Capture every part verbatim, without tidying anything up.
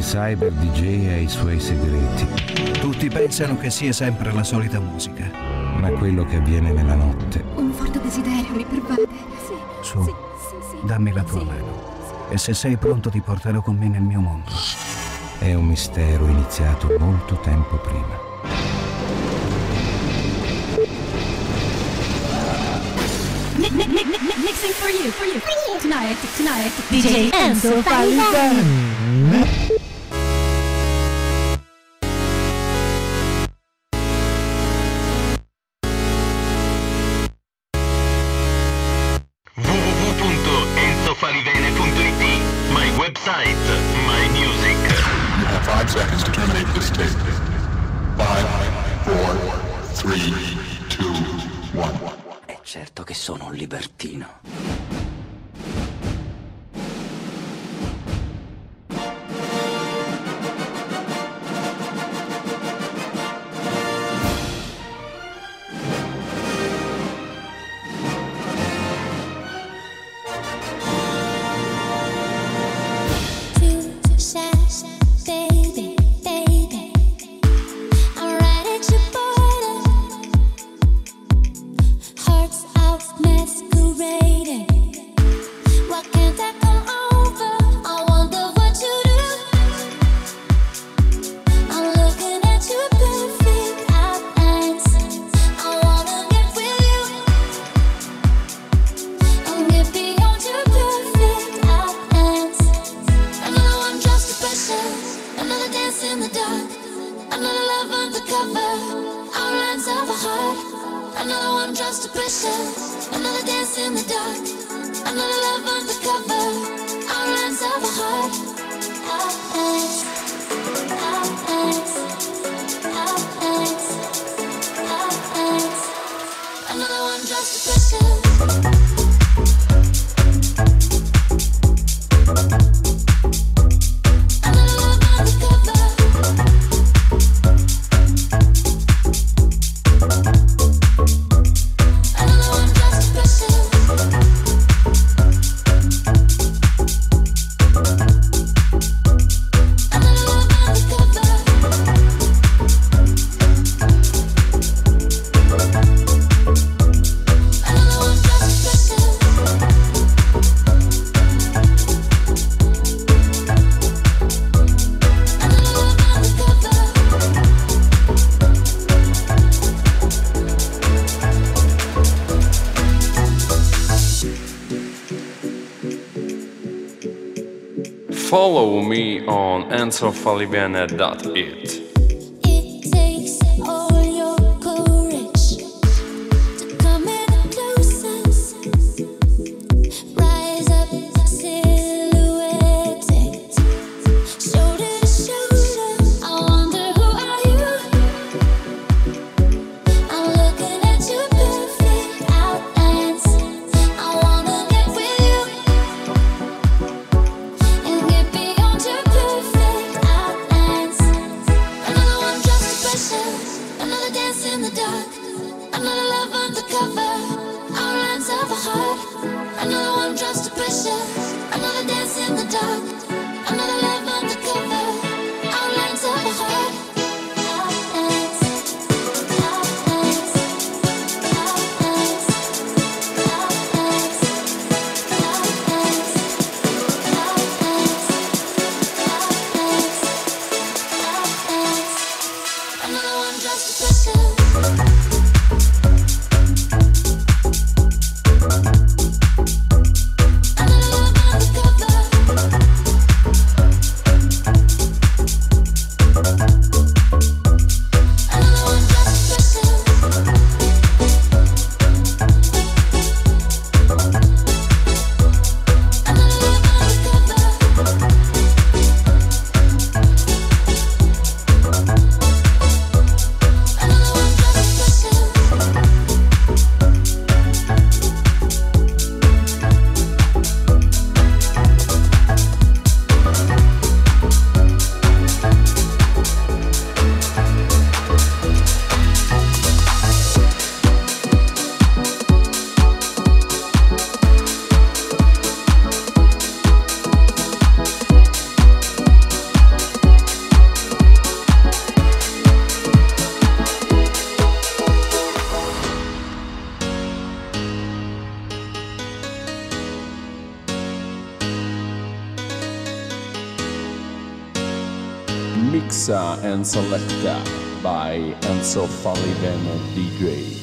cyber D J ha i suoi segreti. Tutti pensano che sia sempre la solita musica. Ma quello che avviene nella notte... Un forte desiderio mi pervade. Sì, Su, sì, sì, sì. dammi la tua sì. mano. E se sei pronto ti porterò con me nel mio mondo. È un mistero iniziato molto tempo prima. Mixing for you, for you, for you. Tonight, tonight, D J Enzo Falivene. w w w punto enzo falivene punto i t, my website, my music. You have five seconds to terminate this tape. Five, four, three, two, one. È certo che sono un libertino. Follow me on enzo falivene dot it. Another one just to pressure. Mixa and Selecta by Enzo Falivene D J.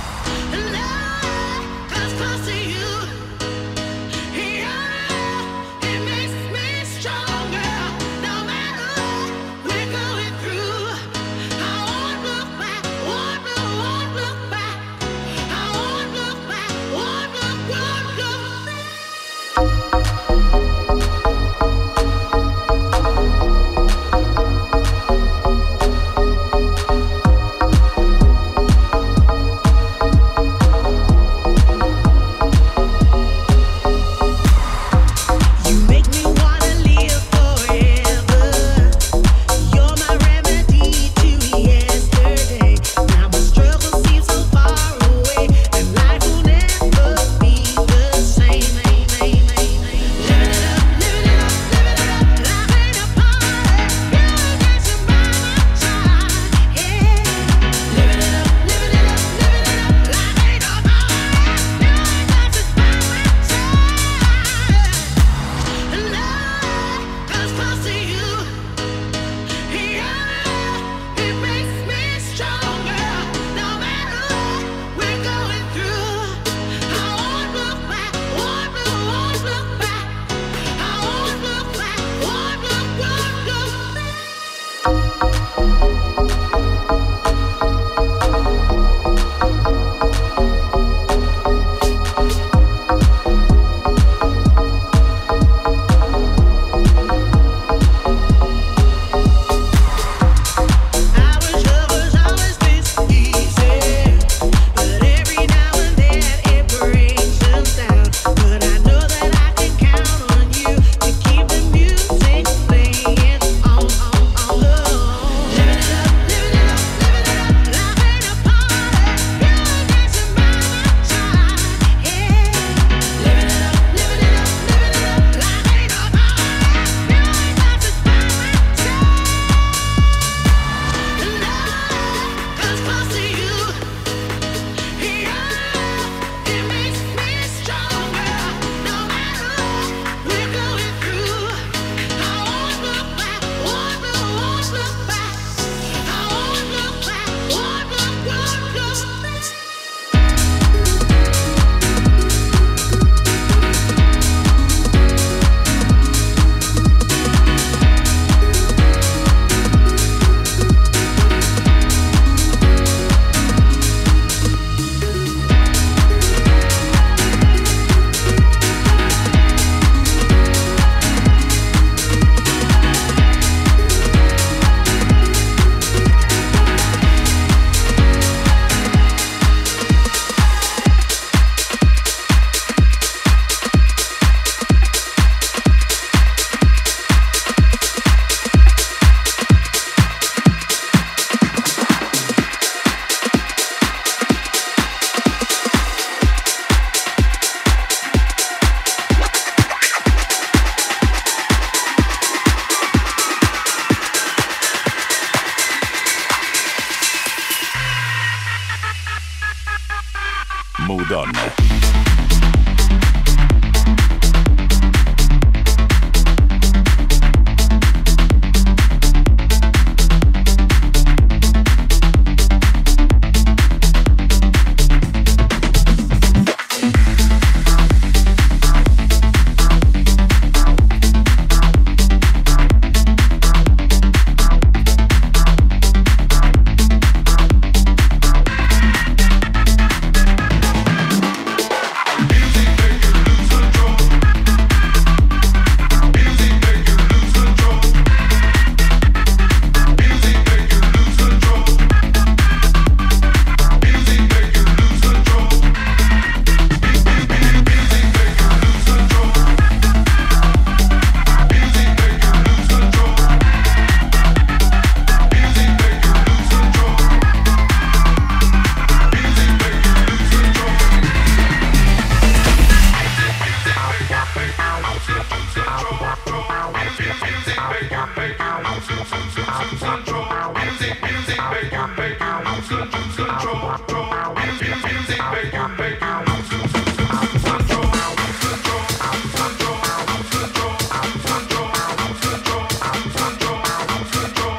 Mood On. Control.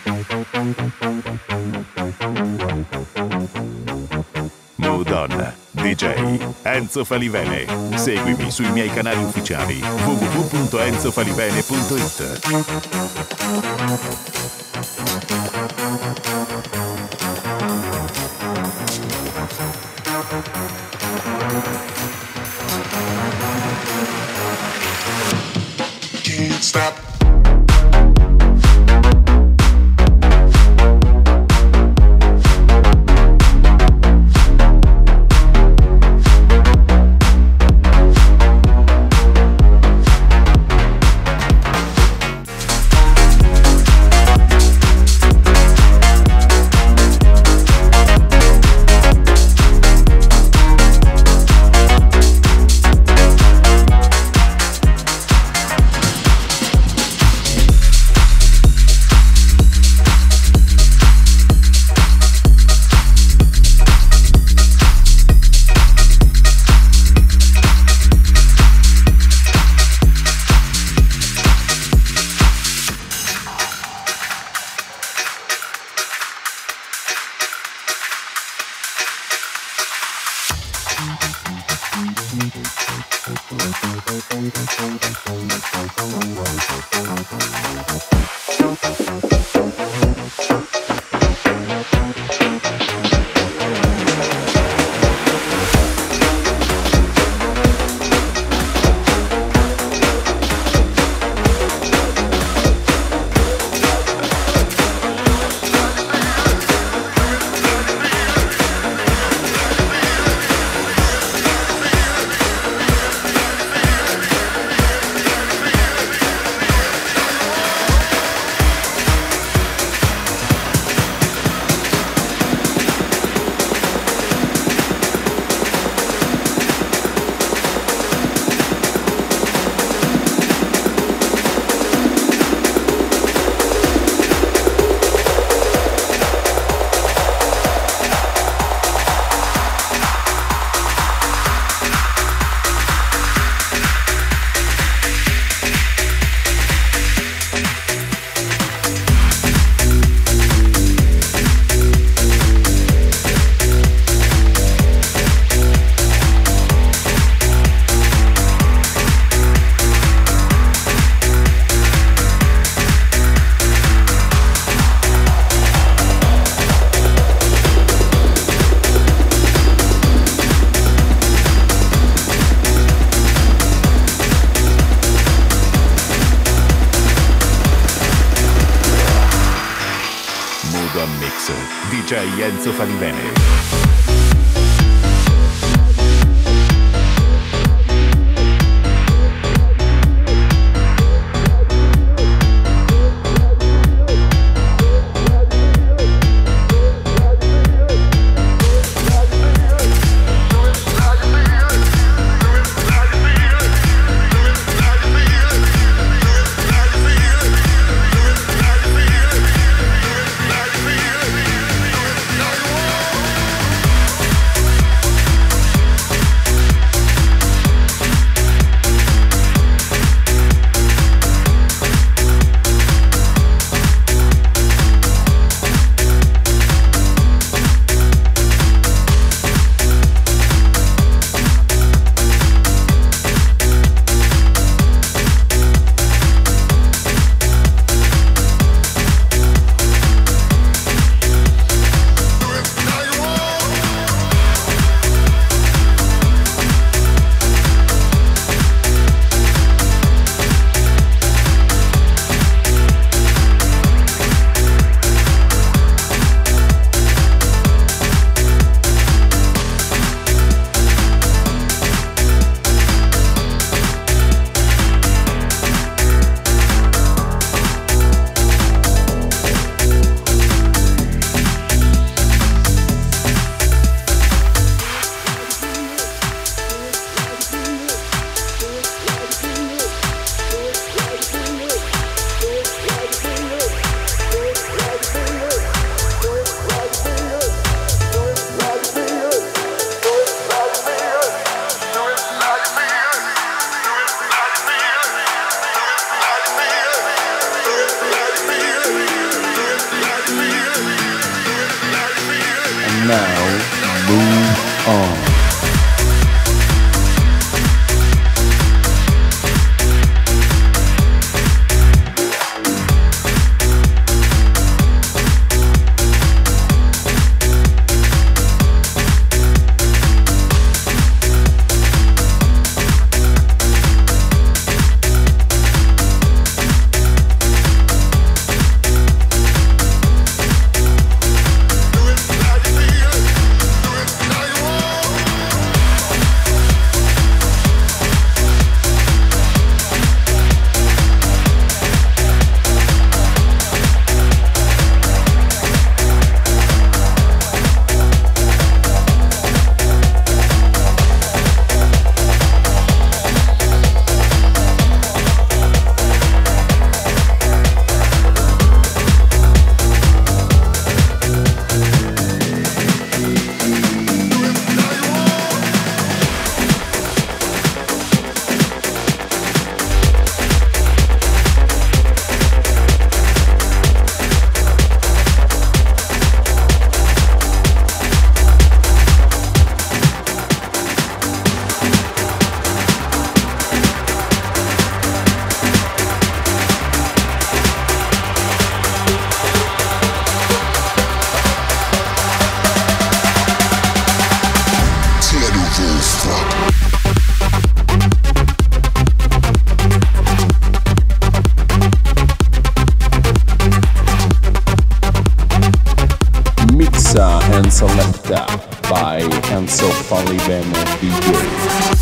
Mood On, D J Enzo Falivene. Seguimi sui miei canali ufficiali w w w punto enzo falivene punto it. Can't stop. D J Enzo Falivene. now move on. And selected by Enzo Falivene D J.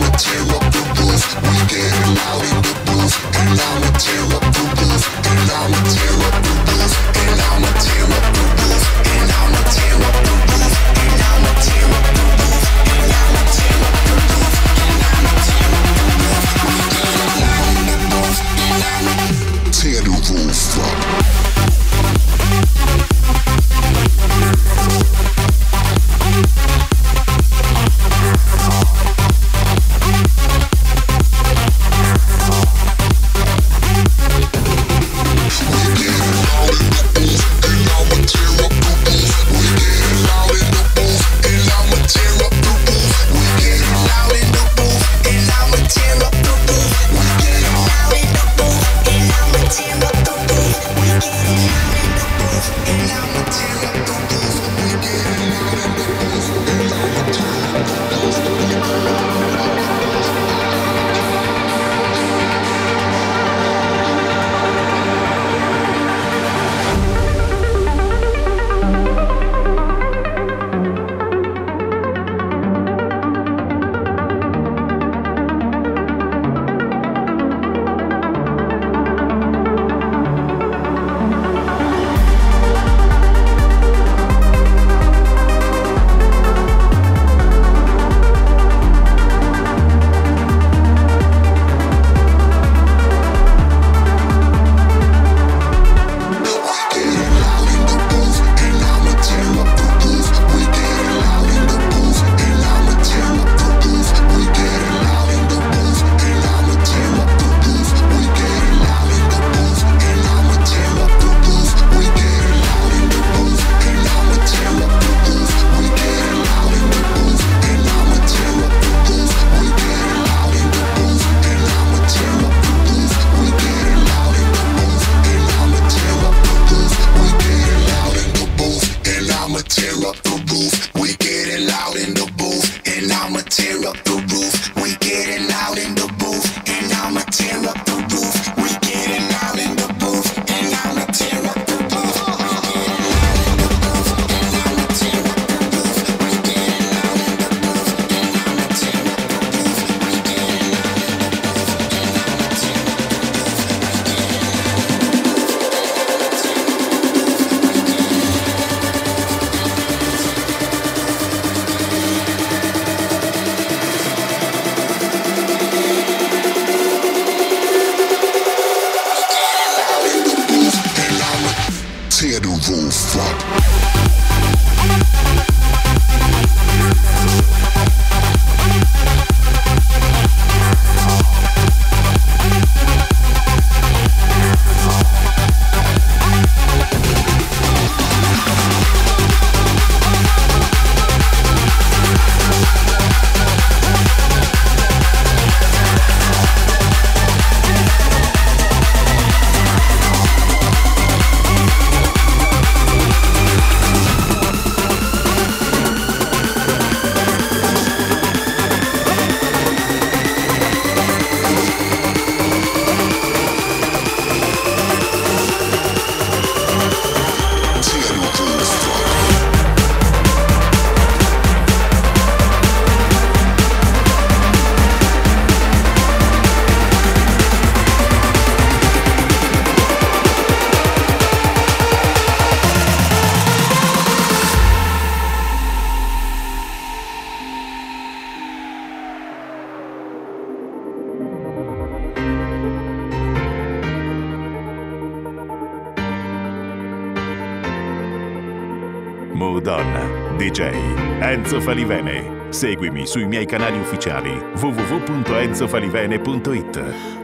Tear up the roof, and I'ma tear up the roof, and I'ma Mood On, D J Enzo Falivene. Seguimi sui miei canali ufficiali w w w punto enzo falivene punto it.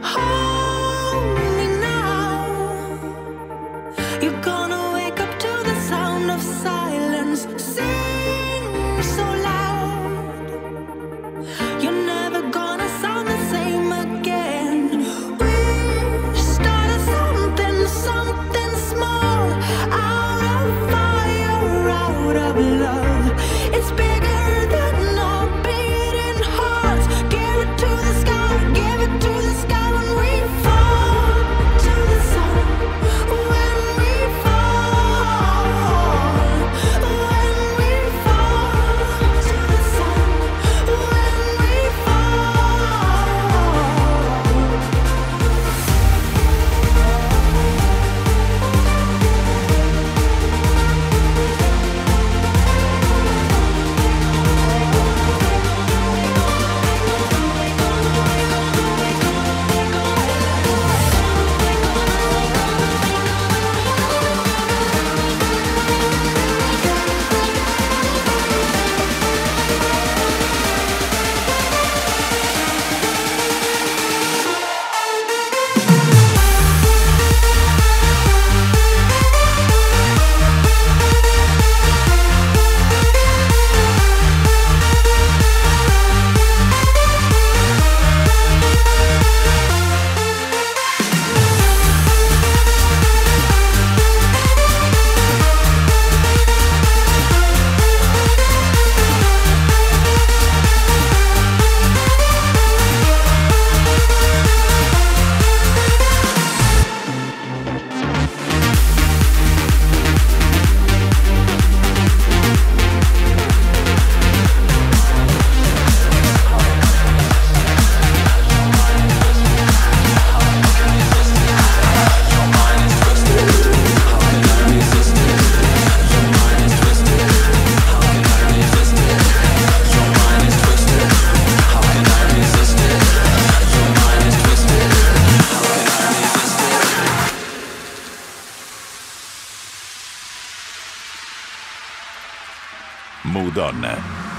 Mood On.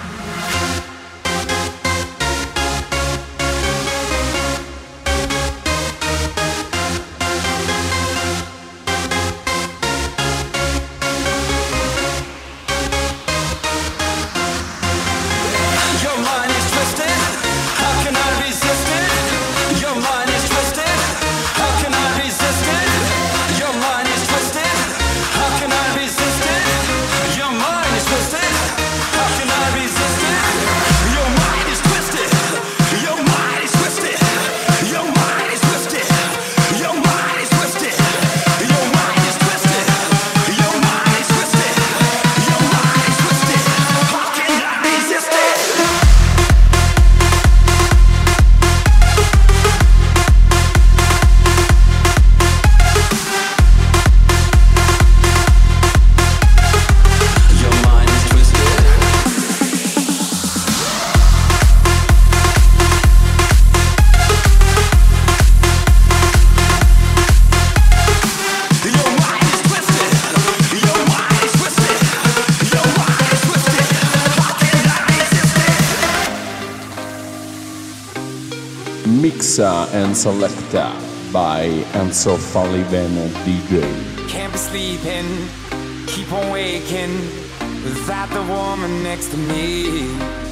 Mixa and selecta by Enzo Falivene D J. Can't be sleeping, keep on waking without the woman next to me.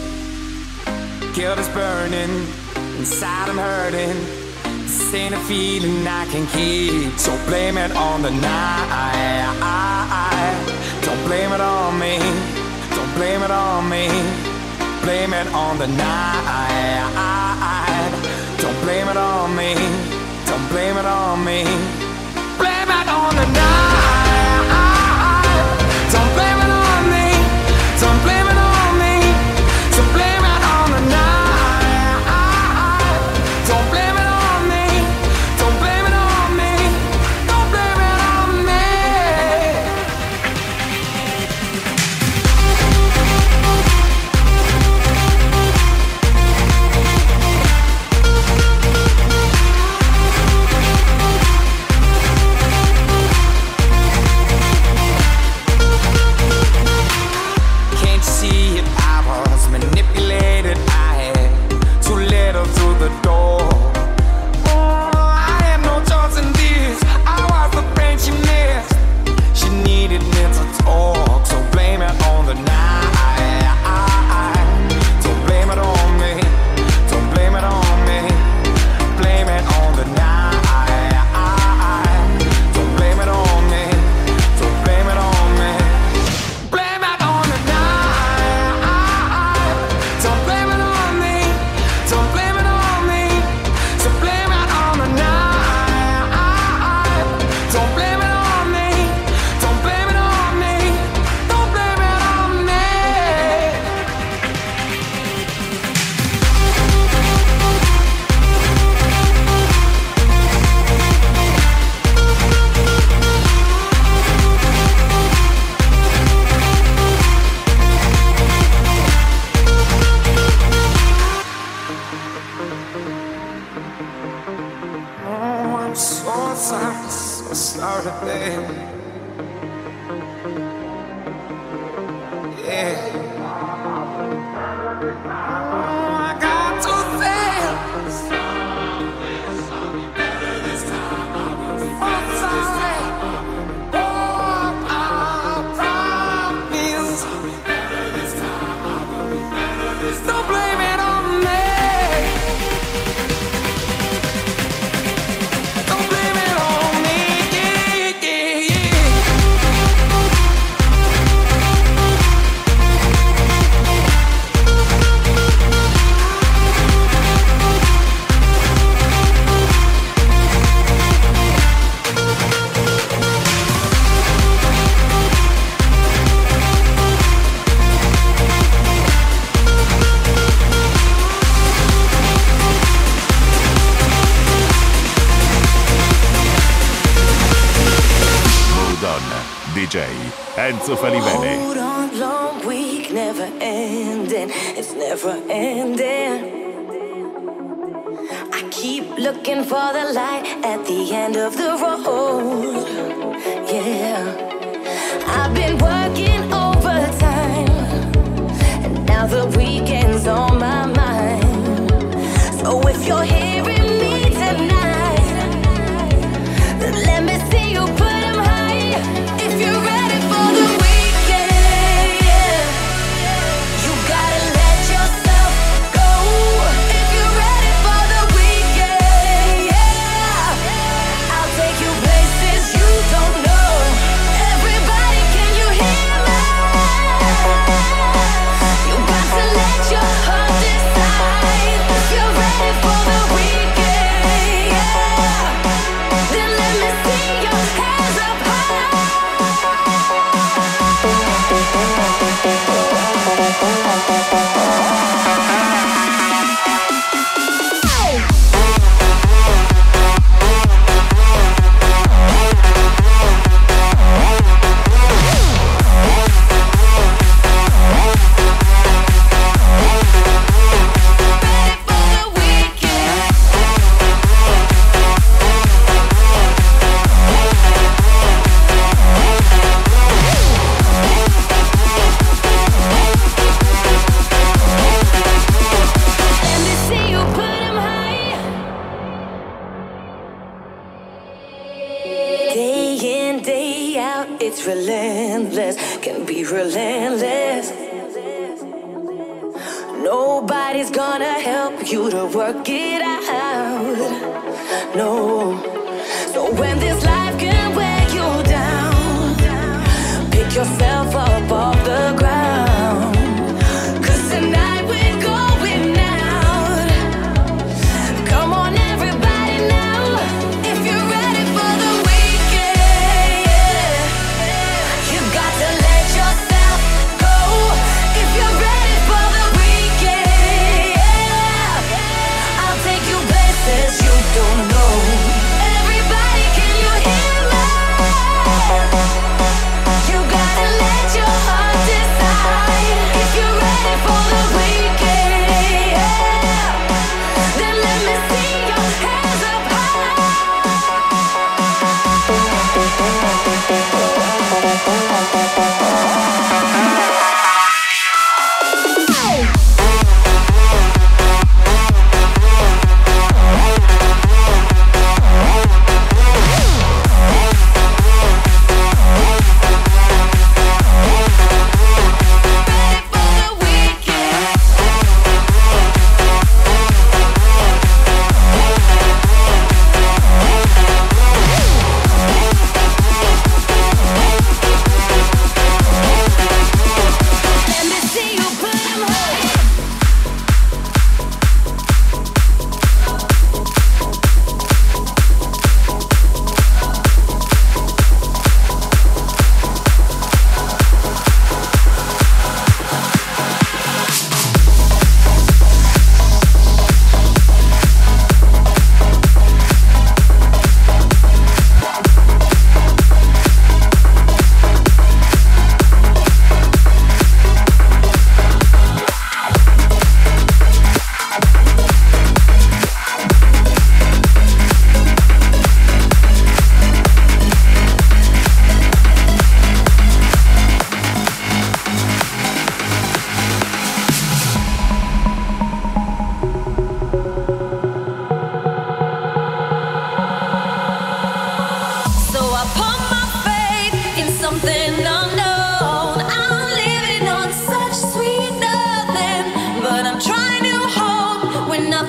Guilt is burning, inside I'm hurting. This ain't a feeling I can keep. So blame it on the night. Don't blame it on me. Don't blame it on me. Blame it on the night. Don't blame it on me. Don't blame it on me. Blame it on the night. Don't blame it on me. Don't blame it on me. So blame it on the night. Don't blame it on me. Don't blame it on me. Don't blame it on me. I'm so sorry, baby. Yeah. Oh, I got to say, sorry, better this time. I will be oh, sorry. Oh, I promise. Sorry, better this time. I will be better this time. Don't blame it on me. D J Enzo Falivene. Hold on, long week, never ending. It's never ending. I keep looking for the light at the end of the road. Yeah, I've been working overtime, and now the weekend's on my mind. So if you're hearing me tonight, then let me see you put them high. If you're ready for the weekend, yeah, you gotta let yourself go. If you're ready for the weekend, yeah, I'll take you places you don't know. Everybody, can you hear me? You got to let your heart decide. If you're ready for the weekend, yeah, then let me see your hands up high. It's relentless, can be relentless. Nobody's gonna help you to work it out. No. So when this life can wear you down, pick yourself up off the ground. 'Cause tonight we're going out. Come on everybody now. If you're ready for the don't know. Everybody, can you hear me? You gotta let your heart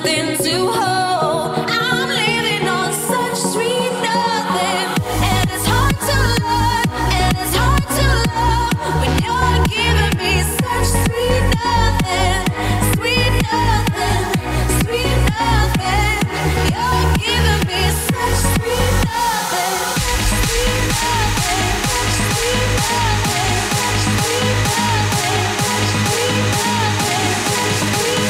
nothing to hold. I'm living on such sweet nothing, and it's hard to love, and it's hard to love when you're giving me such sweet nothing, sweet nothing, sweet nothing. You're giving me such sweet nothing, sweet nothing, sweet nothing, sweet nothing, sweet nothing, sweet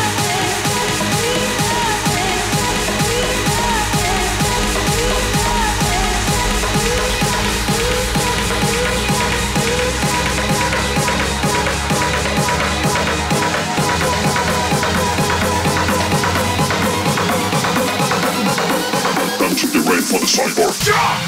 Don't you get ready for the cyborg. Yeah!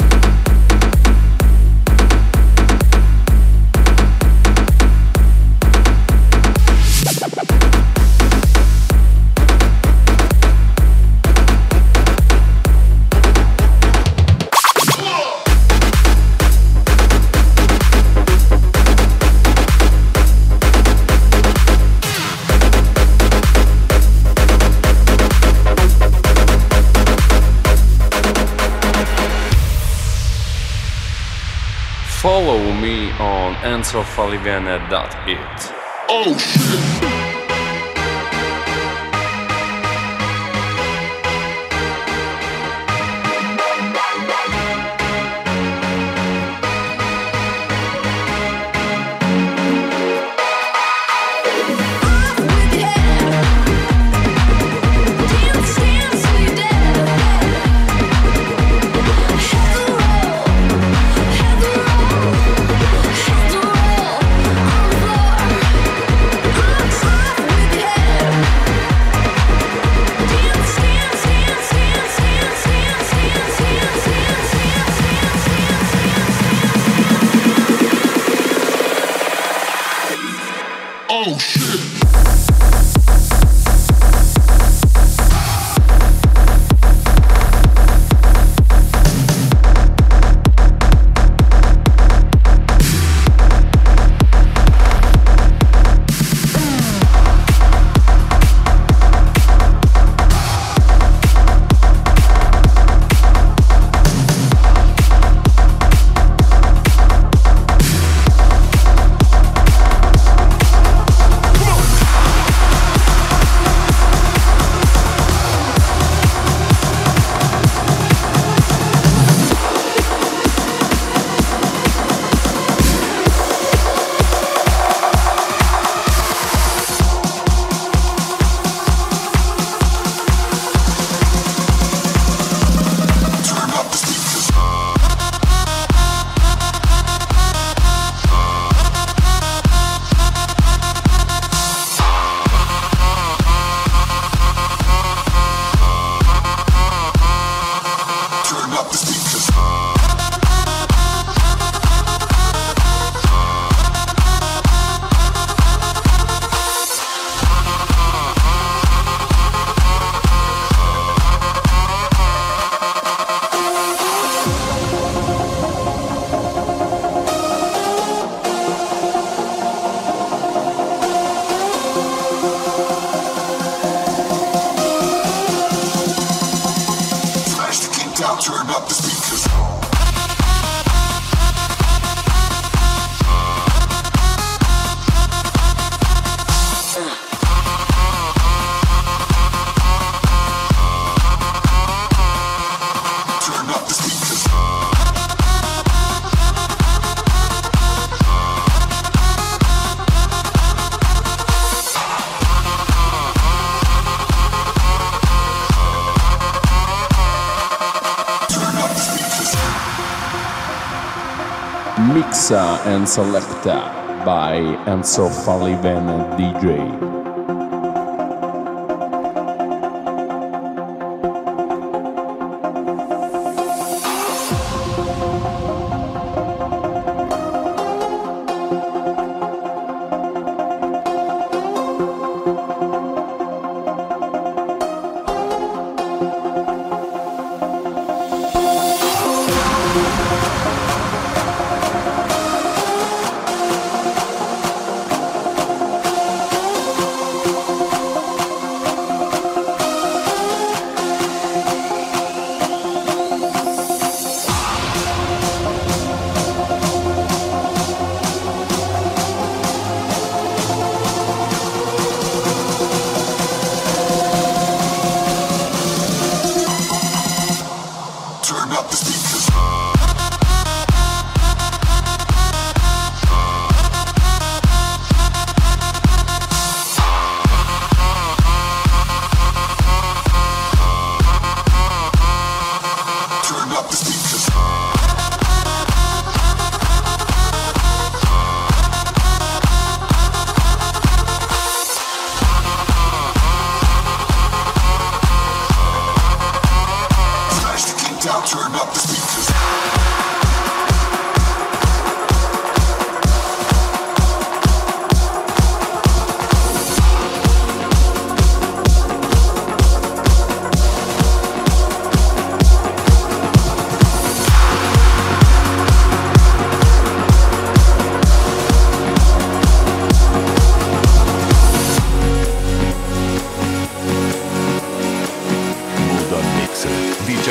Follow me on enzo falivene dot it. Oh shit! Oh shit! Turn up the speakers. Turn up the speakers. Mixa and Selecta by Enzo Falivene D J.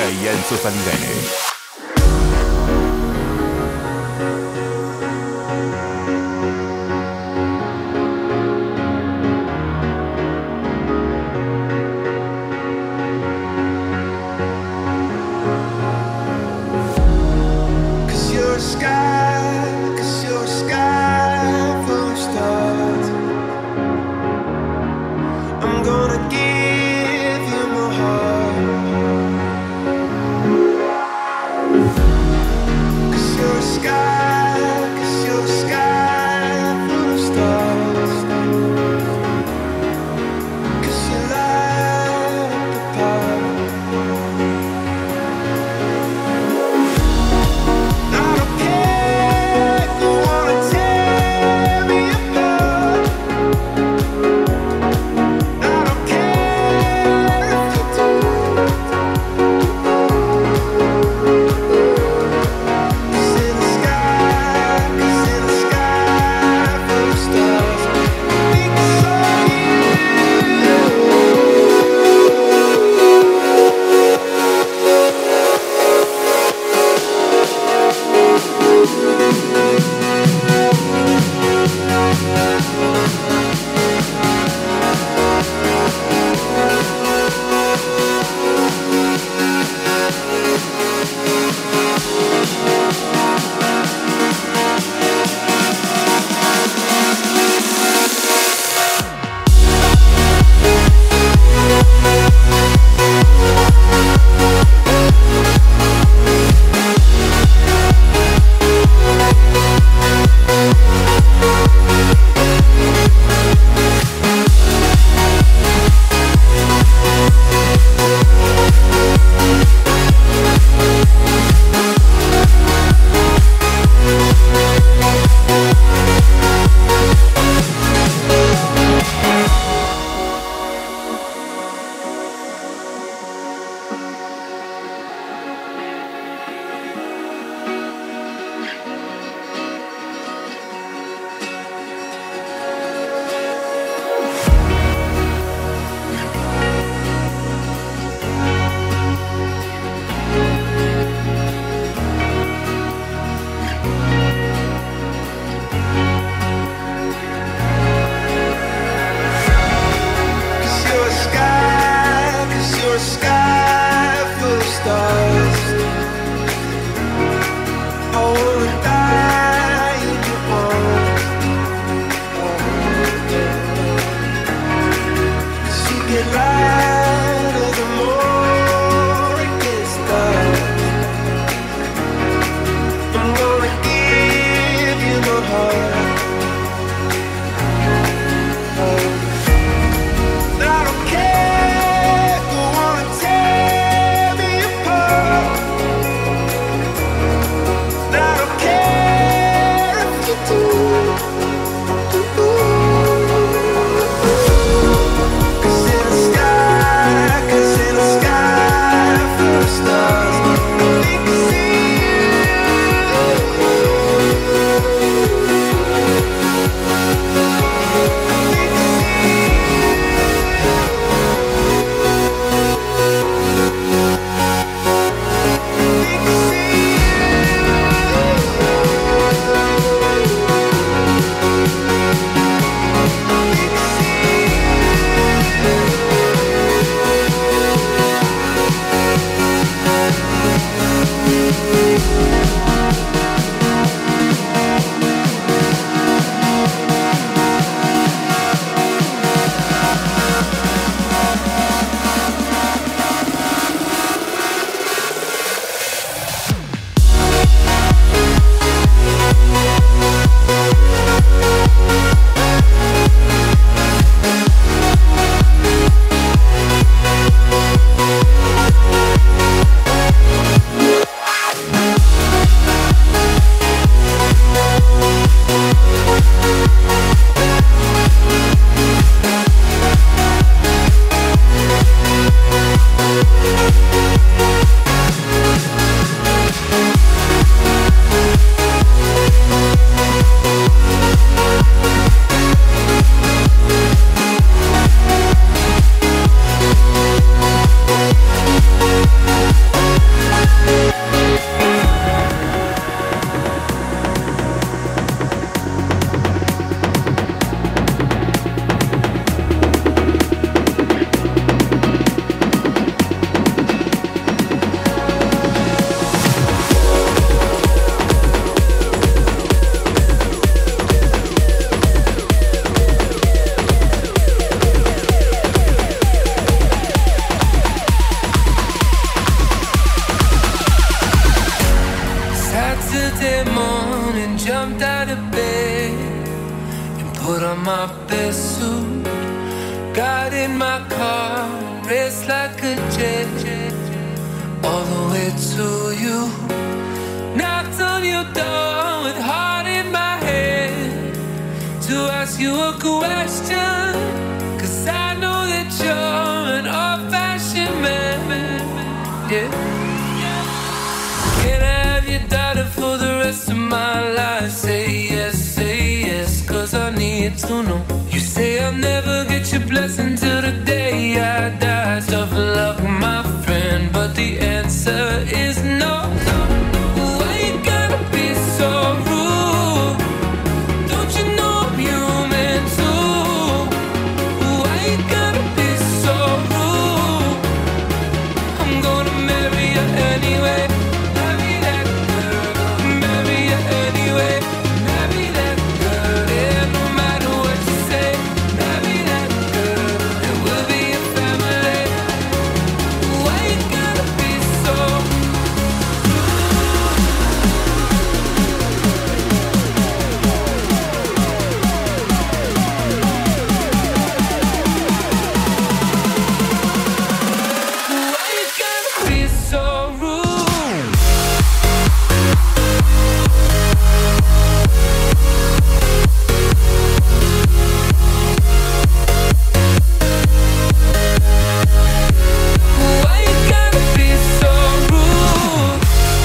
Enzo Falivene. Sky race like a jet, all the way to you. Knocked on your door with heart in my head to ask you a question, 'cause I know that you're an old-fashioned man. Yeah. Can I have your daughter for the rest of my life? Say yes, say yes, 'cause I need to know. You say I'll never get your blessing till the day I die. Tough luck, my friend, but the answer is no. Why you gotta be so rude? Don't you know I'm human too? Why you gotta be so rude? I'm gonna marry you anyway. Marry that girl. Marry you anyway. Marry that girl. Yeah, no matter what you say. Marry that girl. And we'll be a family. Why you gotta be so rude? Why you gotta be so rude? Why you gotta be so rude?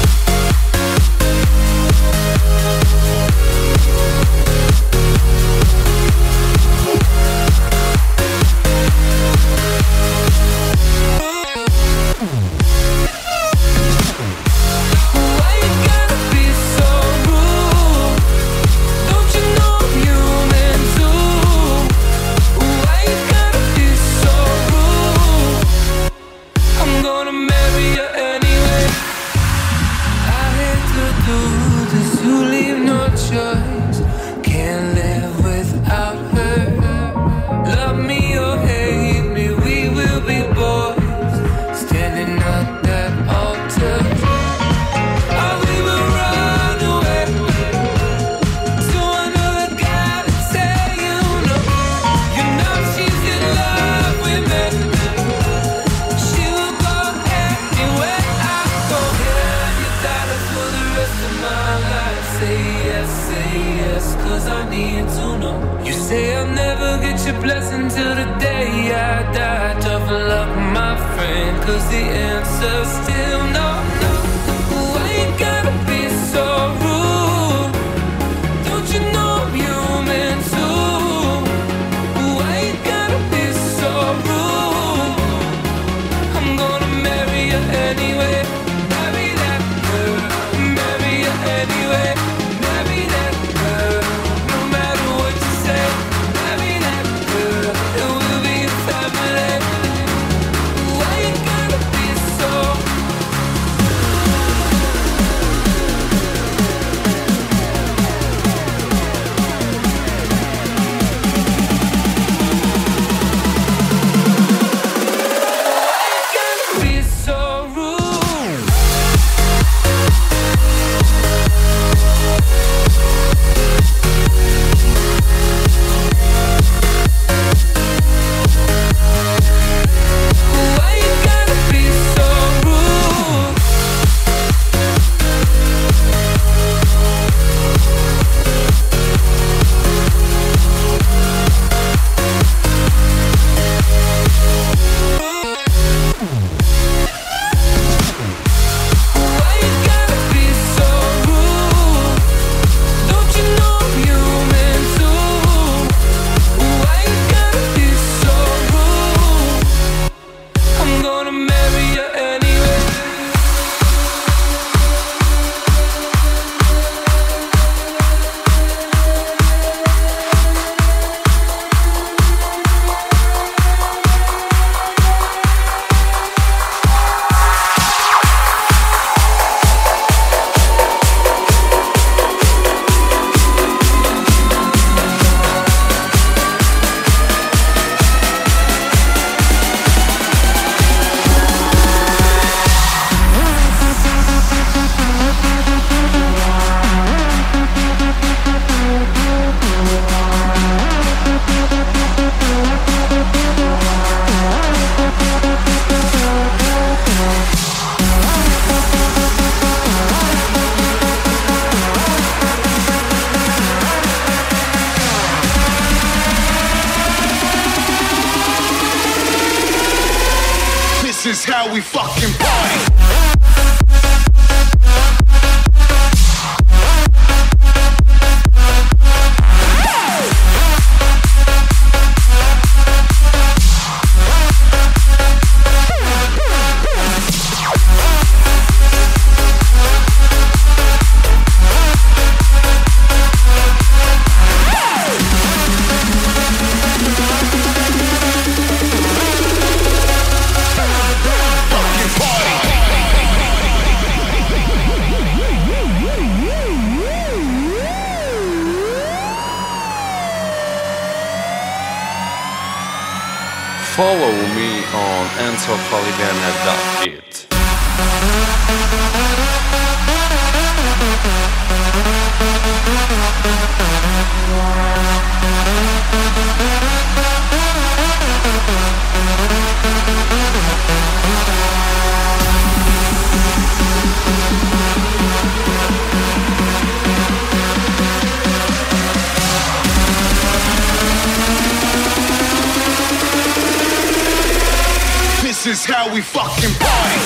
Why you gotta be so rude? Don't you know I'm human too? Why you gotta be so rude? I'm gonna marry you anyway. I hate to do this, you leave no choice. Can't live without her. Love me or hate me, we will be boys, standing at that altar. Or we will run away to another guy that say you know. You know she's in love with me. She will go anywhere I go. Yeah, you got it for the rest of my life. Say yes, say yes, 'cause I need to know. You say I'll never get your blessing till the day I die. Tough luck, my friend, 'cause the answer's still no, no. Why you gotta be so rude? Don't you know I'm human too? Why you gotta be so rude? I'm gonna marry you anyway. Marry that girl. Marry you anyway. Marry that girl. No matter what you say. Marry that girl. It will be a family. Why you gotta be so This is how we fucking party. Follow me on enzo falivene dot it. This is how we fucking party.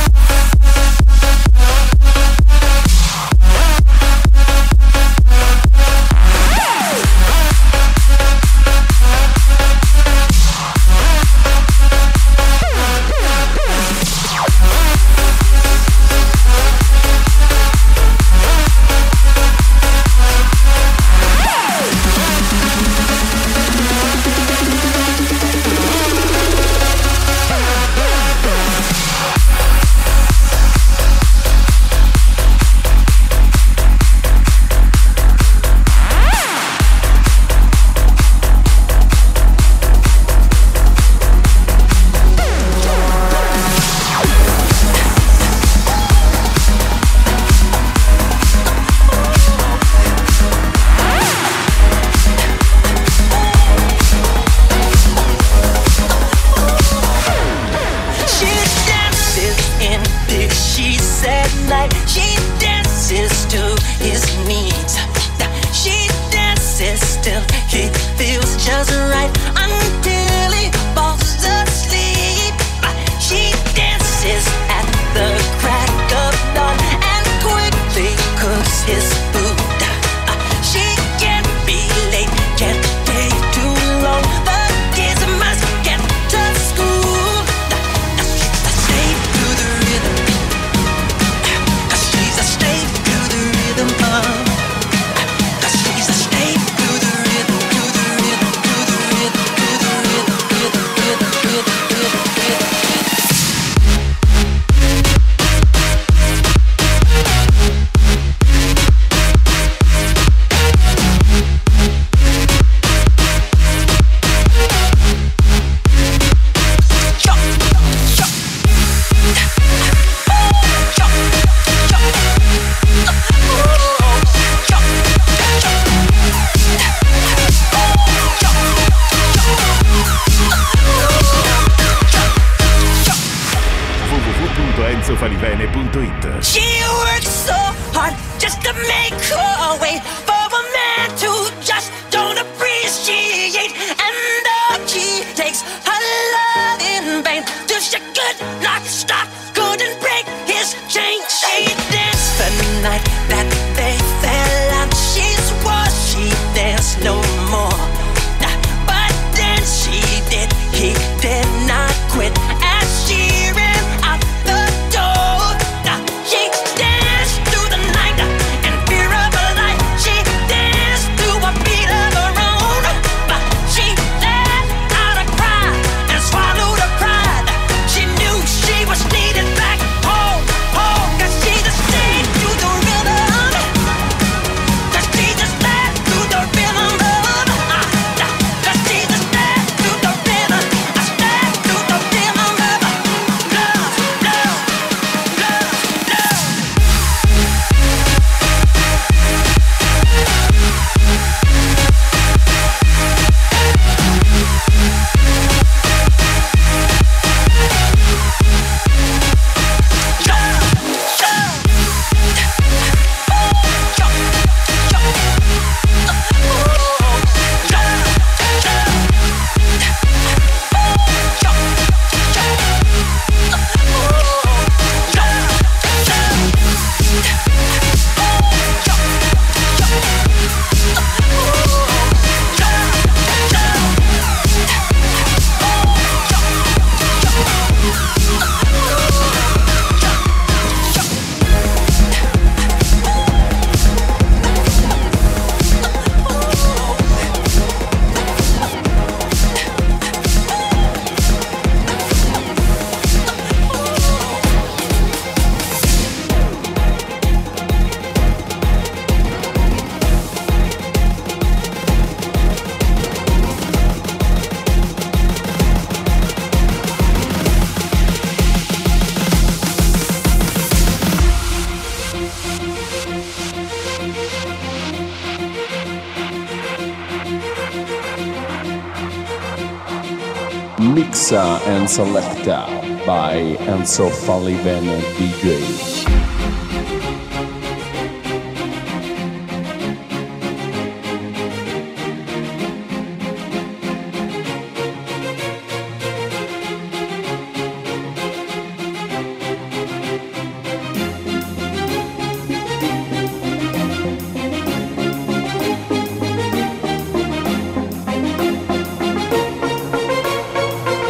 enzo falivene punto it. She works so hard just to make her way for a man to just don't appreciate, and all she takes her love in vain. Till she could not stop, couldn't break his chain. She danced the night that they fell out. She swore she danced no more, but then she did. He did not quit as she ran out the door. She danced through the night in fear of her life. She danced to a beat of her own, but she let out a cry and swallowed her pride. She knew she Mixa and Selecta by Enzo Falivene D J.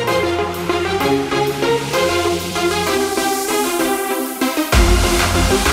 We'll be right back.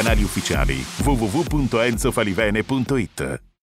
canali ufficiali w w w punto enzo falivene punto it.